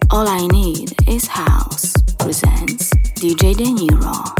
All I Need is House presents DJ De Niro.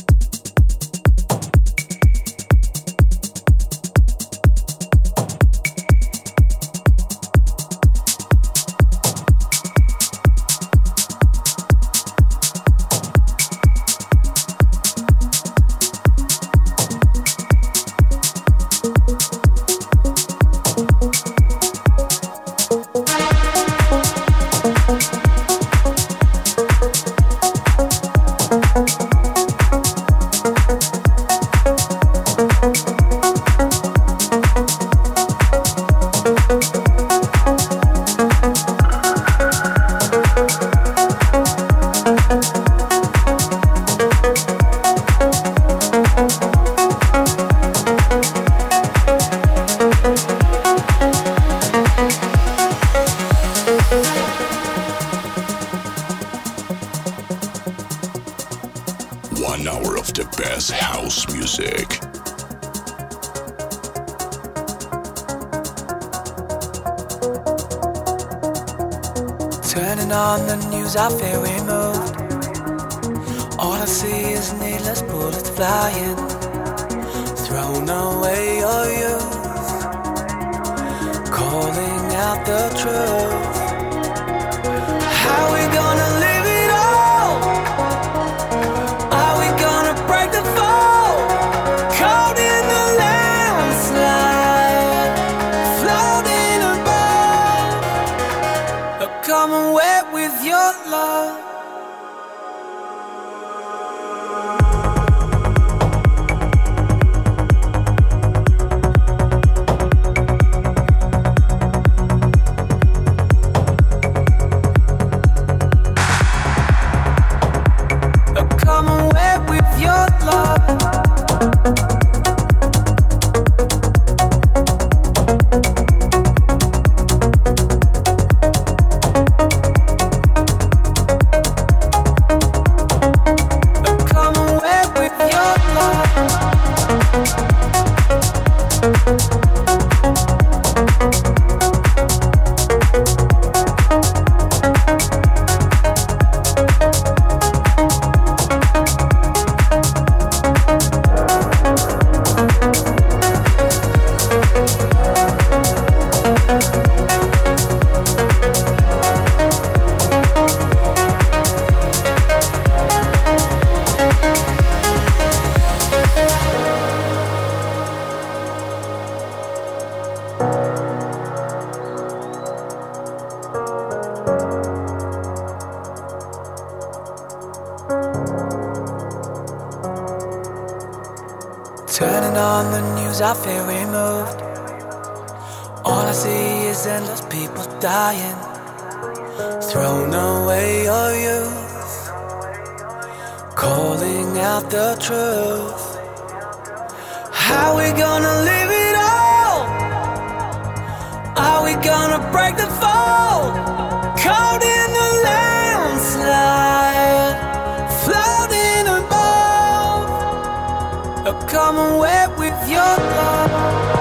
Turning on the news, I feel removed. All I see is needless bullets flying, thrown away your youth, calling out the truth. How we gonna live it all? Are we gonna break the fall? Caught in the landslide, floating above, come and wet with your love. Come and wet with your love. Turning on the news, I feel removed. All I see is endless people dying, thrown away your youth, calling out the truth. How we gonna live it all? Are we gonna break the fall? Caught in the landslide, floating above, come and wet with your love.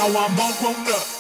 I'm all grown up.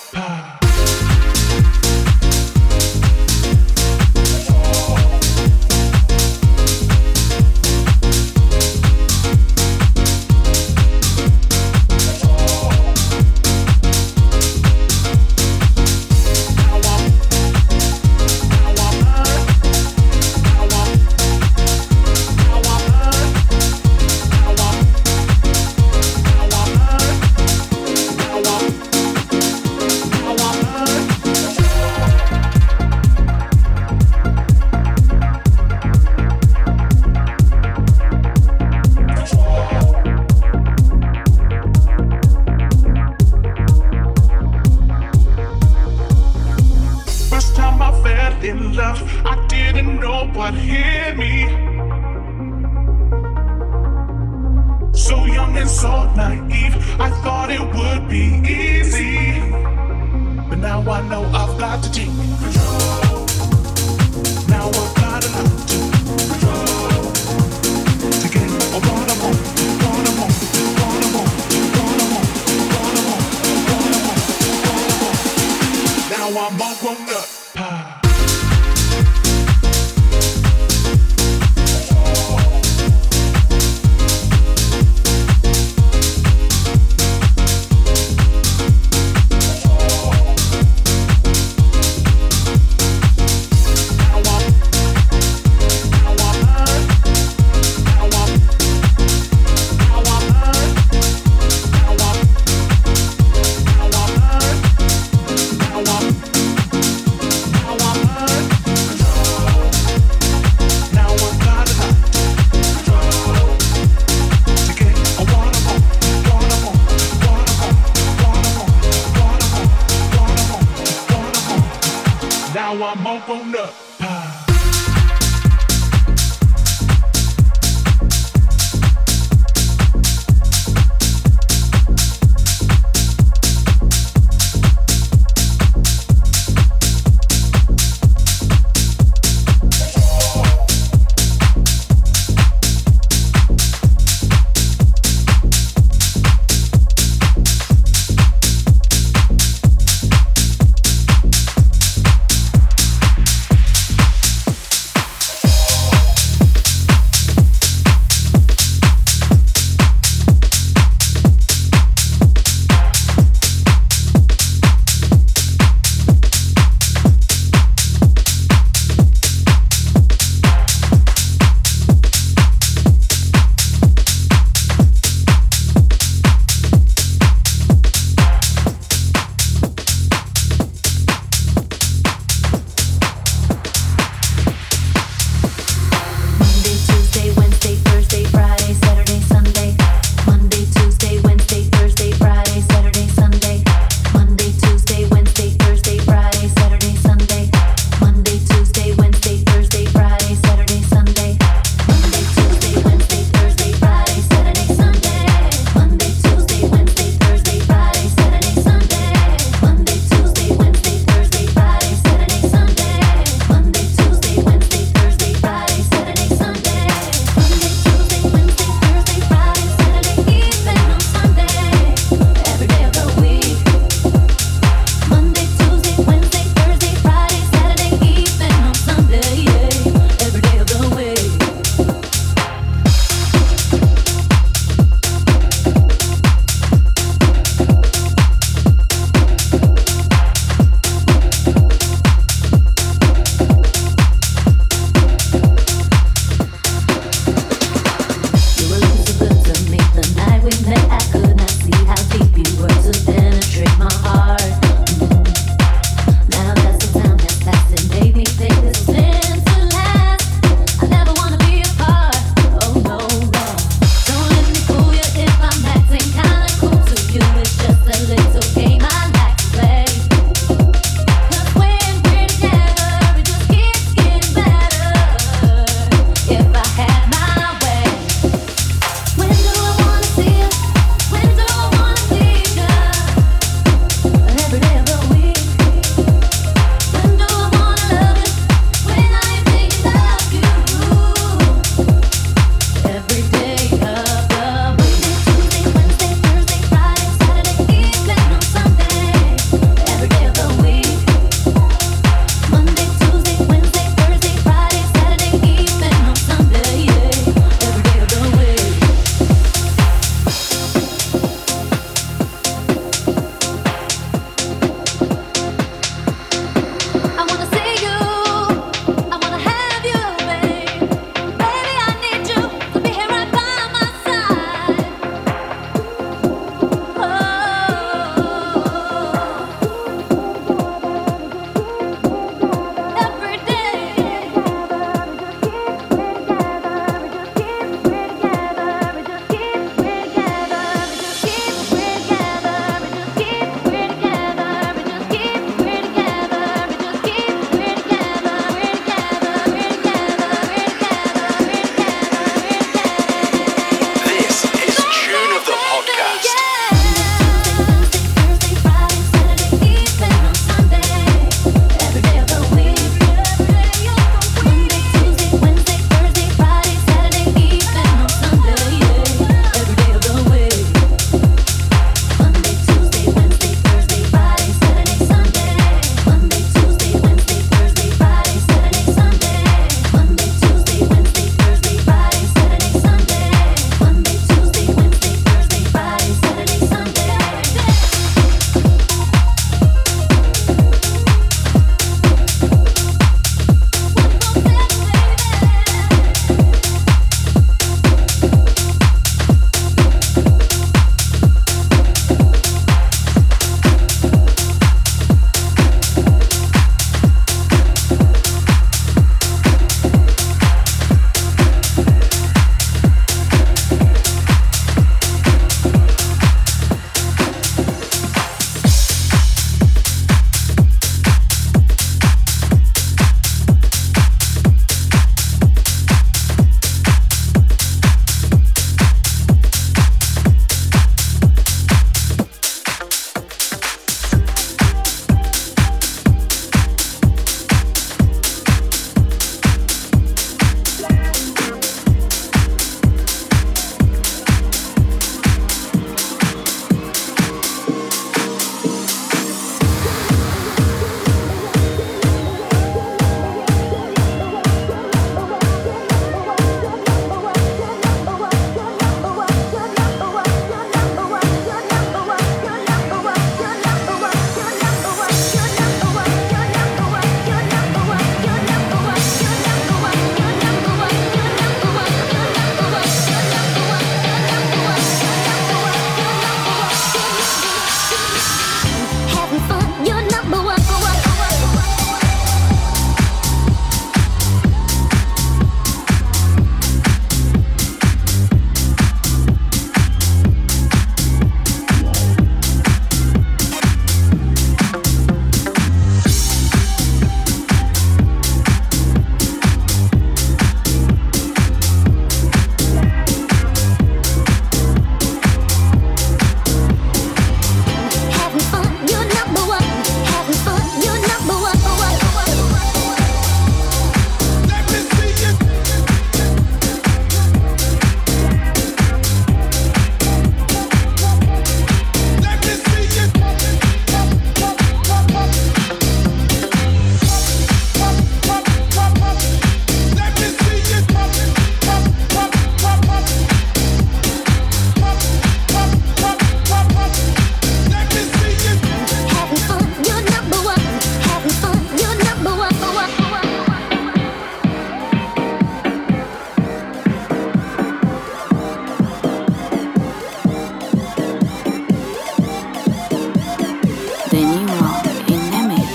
De Niro in the mix.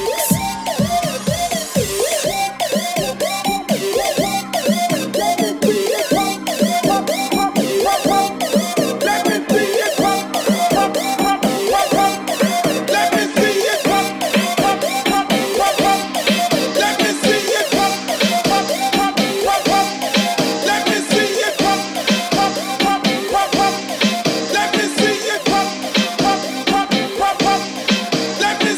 Let me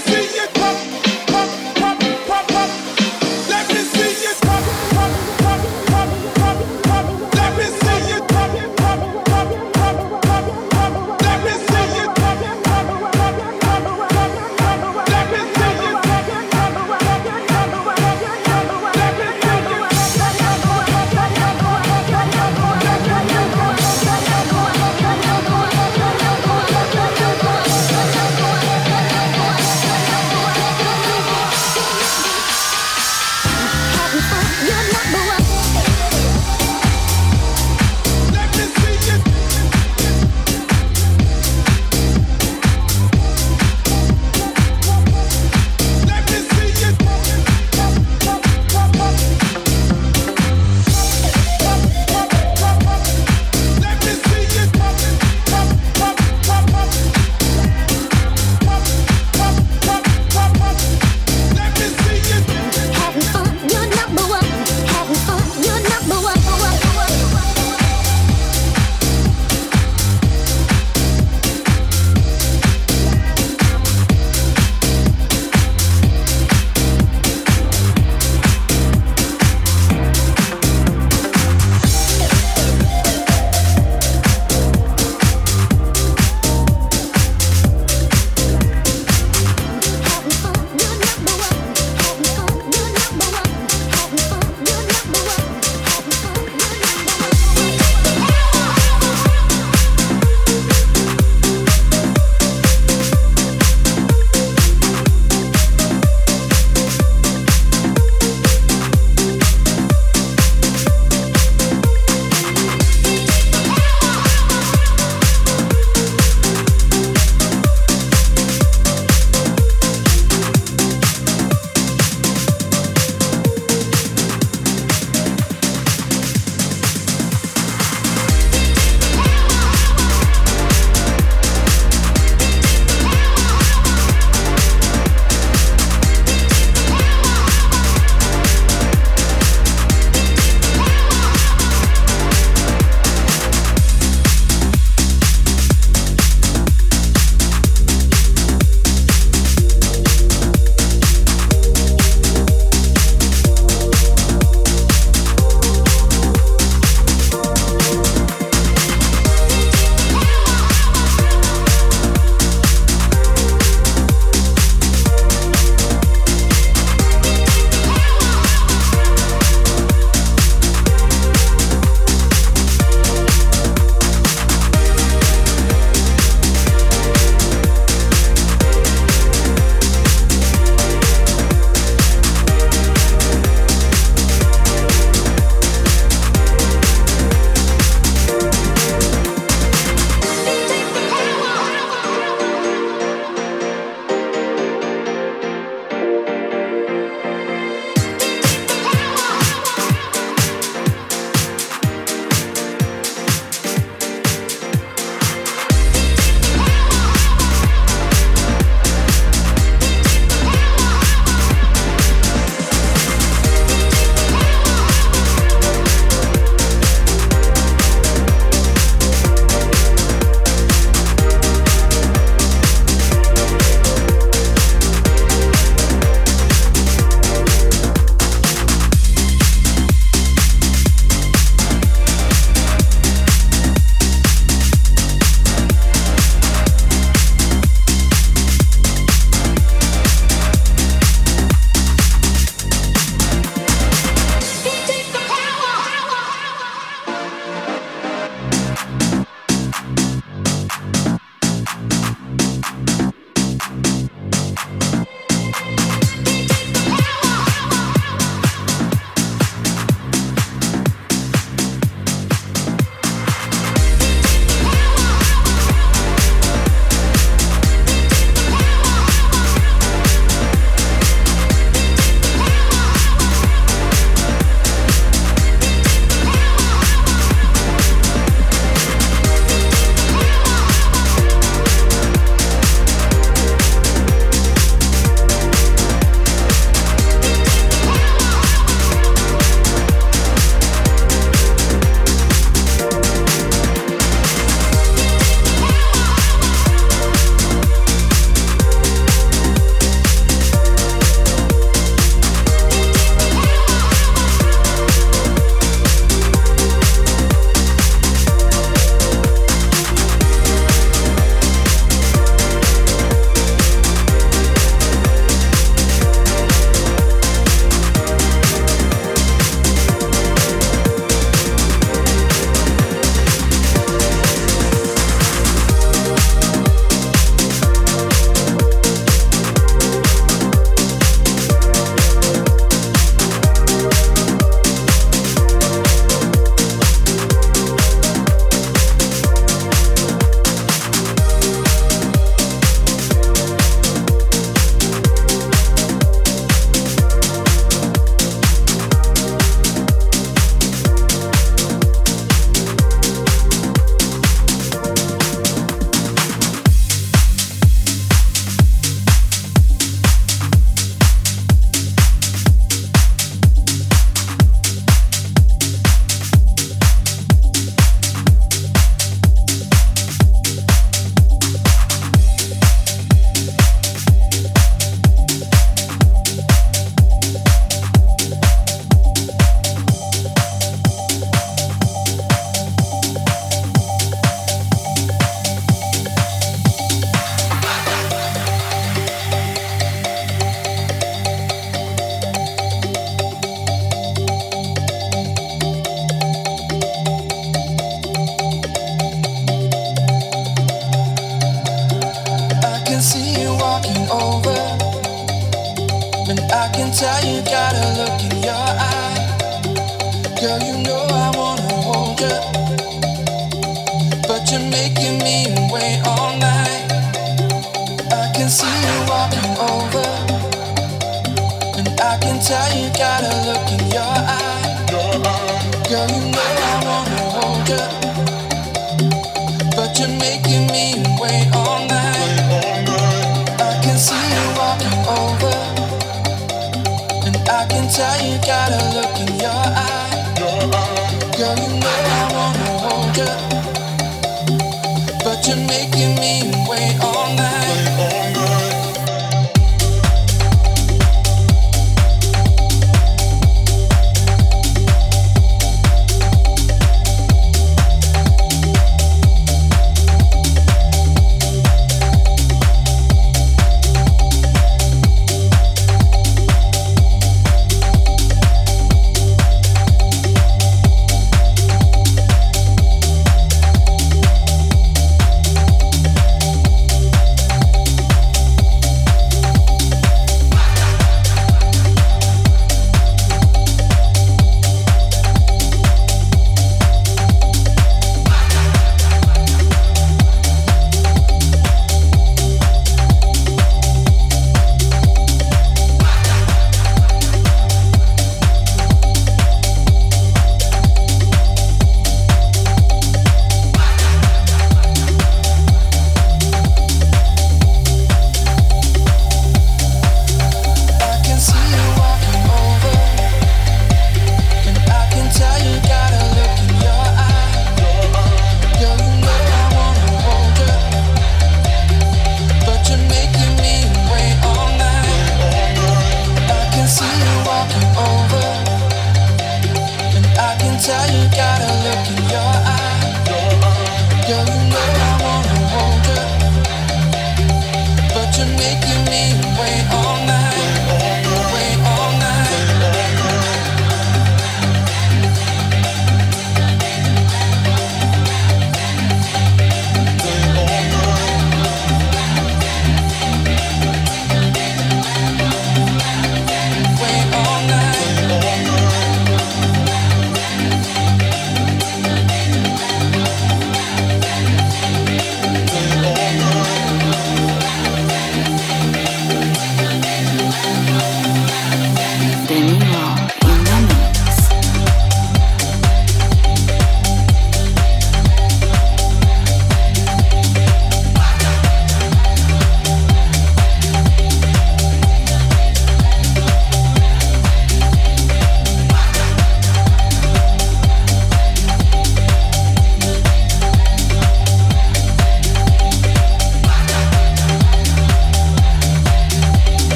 over. And I can tell you got a look in your eye. Girl, you know I wanna hold you, but you're making me wait all night. I can see you walking over, and I can tell you got a look in your eye. Girl, you know I wanna hold you, but you're making me wait all night. I can see you walking over, and I can tell you got a look in your eye. Girl, you know I wanna hold you, but you're making me wait all night.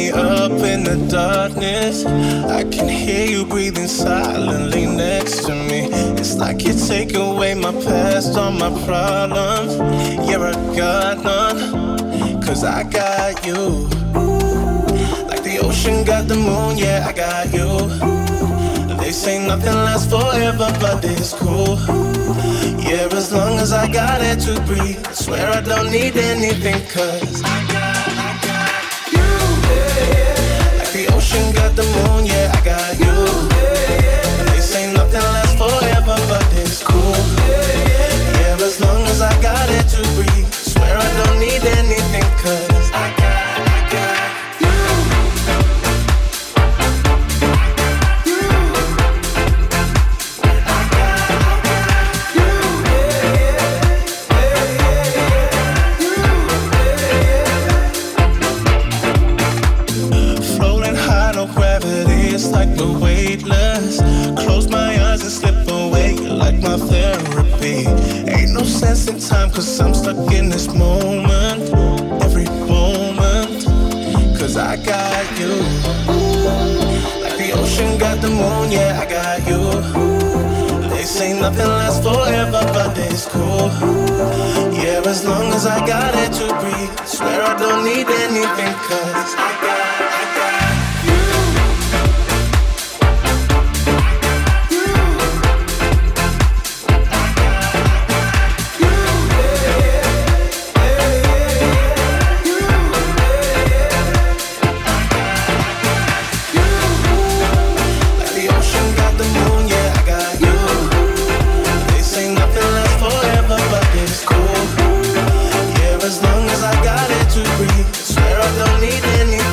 me up in the darkness. I can hear you breathing silently next to me. It's like you take away my past, all my problems. Yeah, I got none, 'cause I got you. Like the ocean got the moon, yeah, I got you. They say nothing lasts forever, but it's cool. Yeah, as long as I got it to breathe, I swear I don't need anything, 'cause I got you. Like the ocean got the moon, yeah, I got you. They say nothing lasts forever, but it's cool. Yeah, as long as I got it to breathe, I swear I don't need anything, 'cause I got like the weightless. Close my eyes and slip away. You're like my therapy. Ain't no sense in time, 'cause I'm stuck in this moment. Every moment, 'cause I got you. Like the ocean got the moon, yeah, I got you. They say nothing lasts forever, but it's cool. Yeah, as long as I got it to breathe, I swear I don't need anything, 'cause I got as long as I got it to breathe, I swear I don't need anything.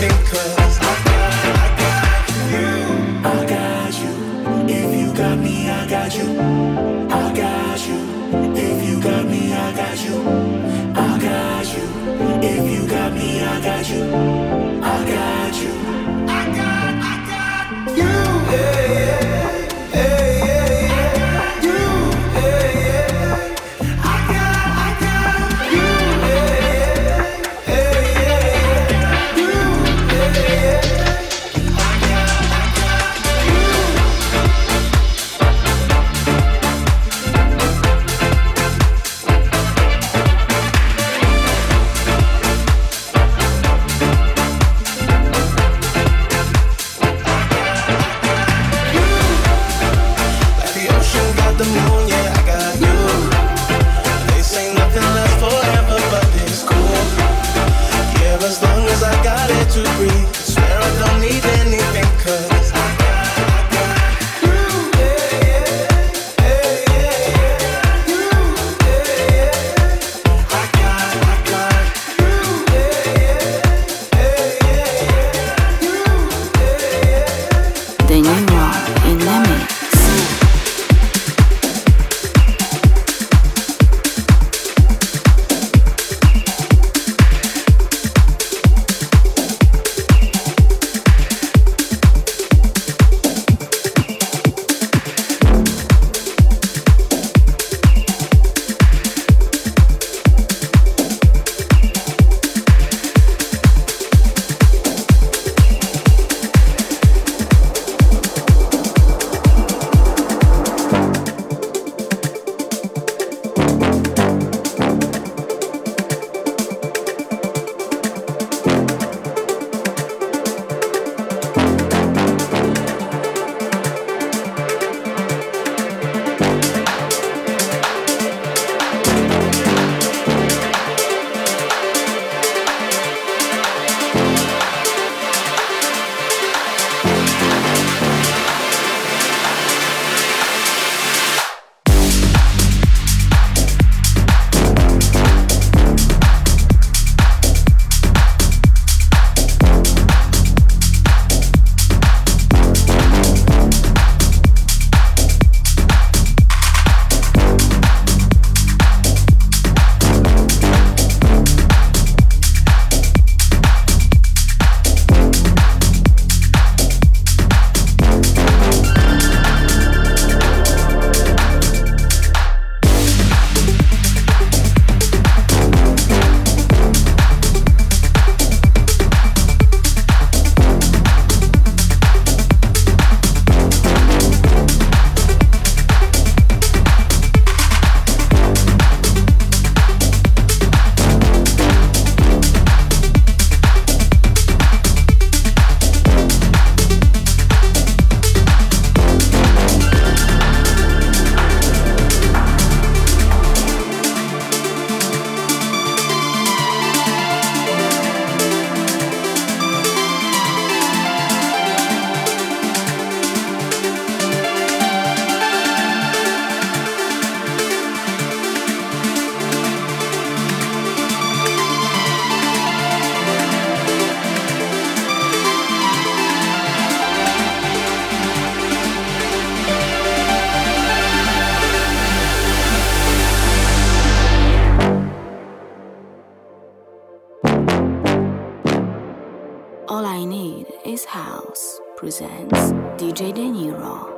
beat is House presents DJ De Niro.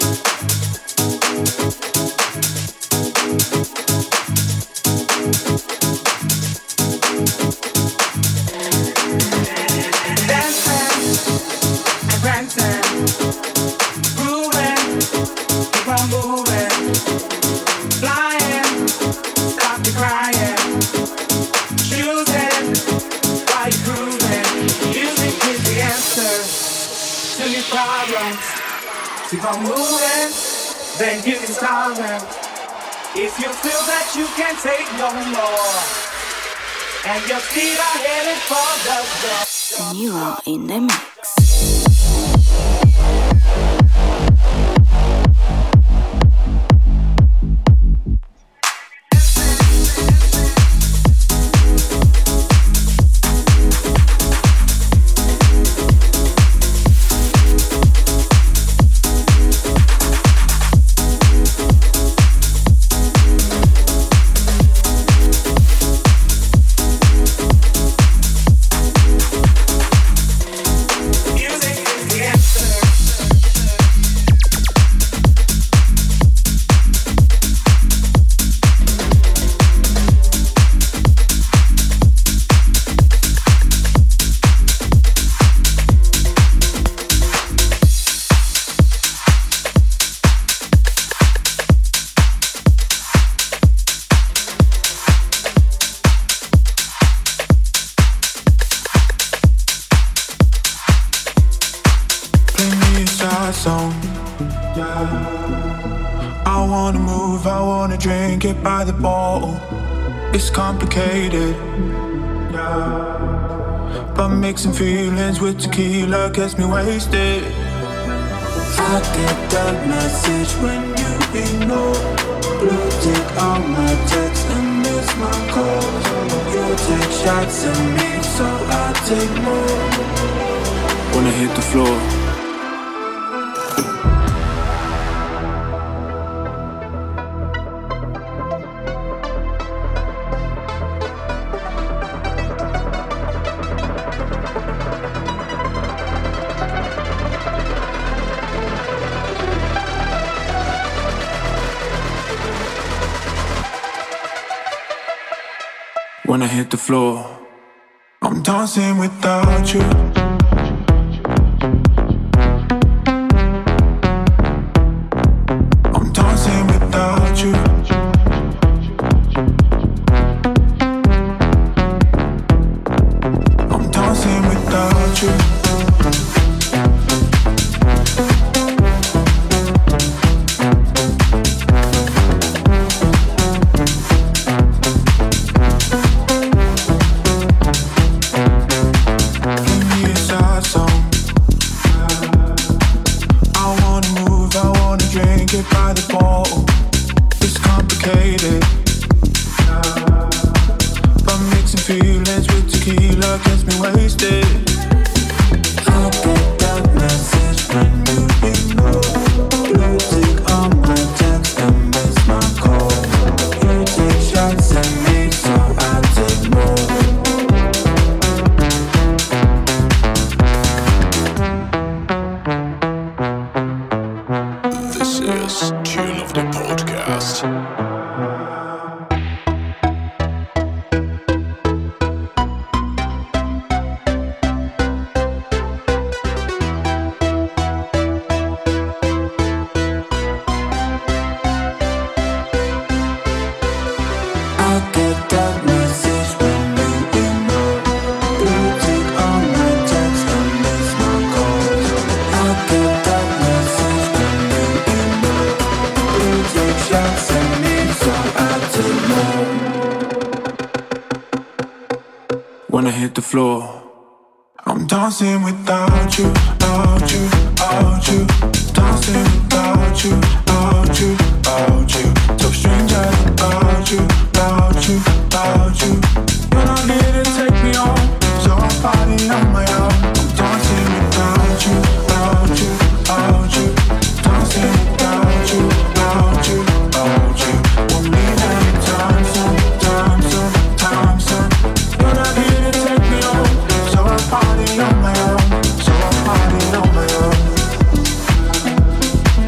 Keep on moving, then you can start them. If you feel that you can't take no more, and your feet are headed for the door. De Niro in the mix. Get by the bottle, it's complicated, yeah. But mixing feelings with tequila gets me wasted. I get that message when you ignore. Blue tick on my text and miss my calls. You take shots at me, so I take more. Wanna hit the floor. When I hit the floor, I'm dancing without you. I'm dancing without you. I'm dancing without you. When I hit the floor, I'm dancing without you, out you, out you. Dancing without you, out you, out you. So strange about you, about you, about you. You're not here to take me home, so I'm partying on my own. I'm dancing without you, out you, out you. Dancing without you, out you, out you. Won't leave anytime soon, time soon, time soon. You're not here to take me home, so I'm partying on my own, so I'm partying on my own.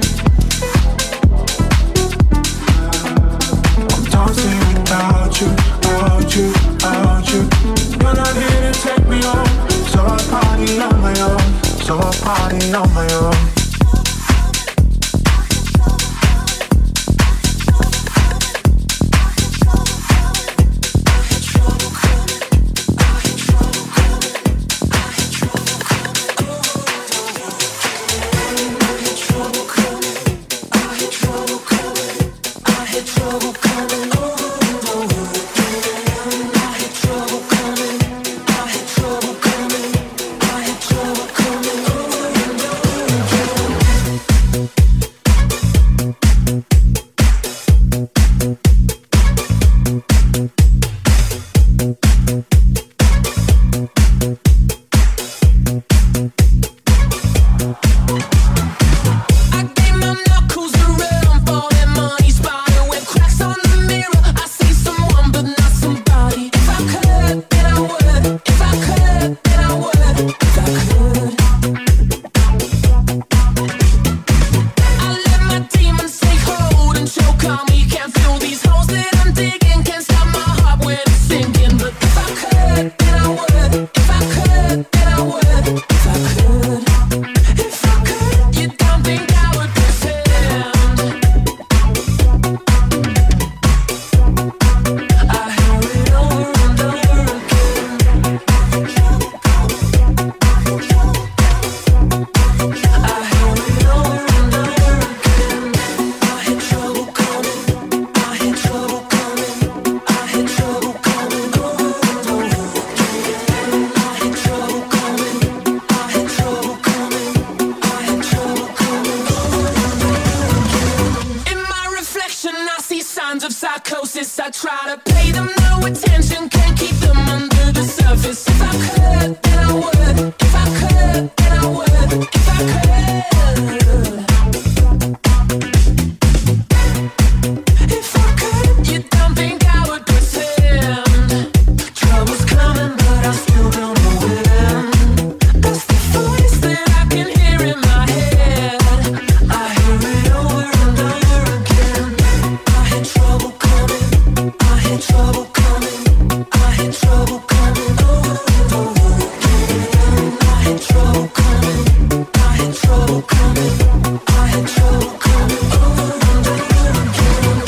crisis. I try to pay them no attention, can't keep them under the surface. If I could, then I would. If I could, then I would. If I could. If I could, you don't think I would pretend trouble's coming, but I still don't know when. That's the voice that I can hear in my head. I hear it over and over again. I hear trouble coming. I hear trouble coming. I hear trouble coming over and over again. I hear trouble coming. I hear trouble coming. I hear trouble coming over and over again.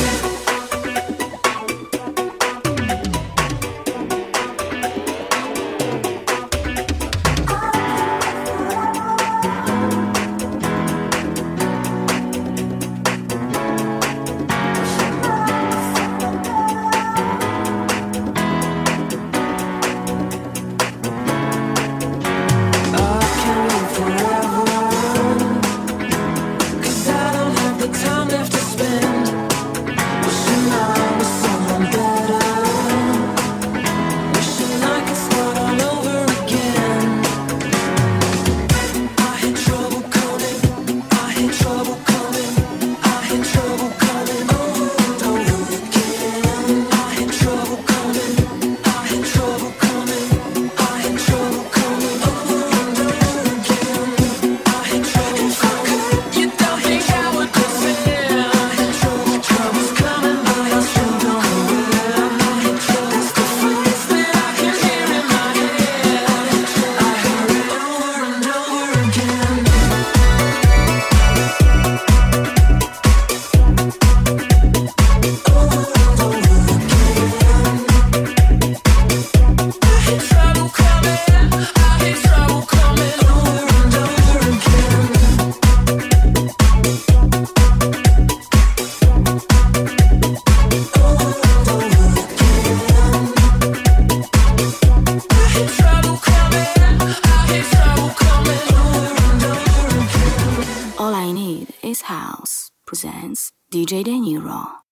All I Need Is House presents DJ De Niro.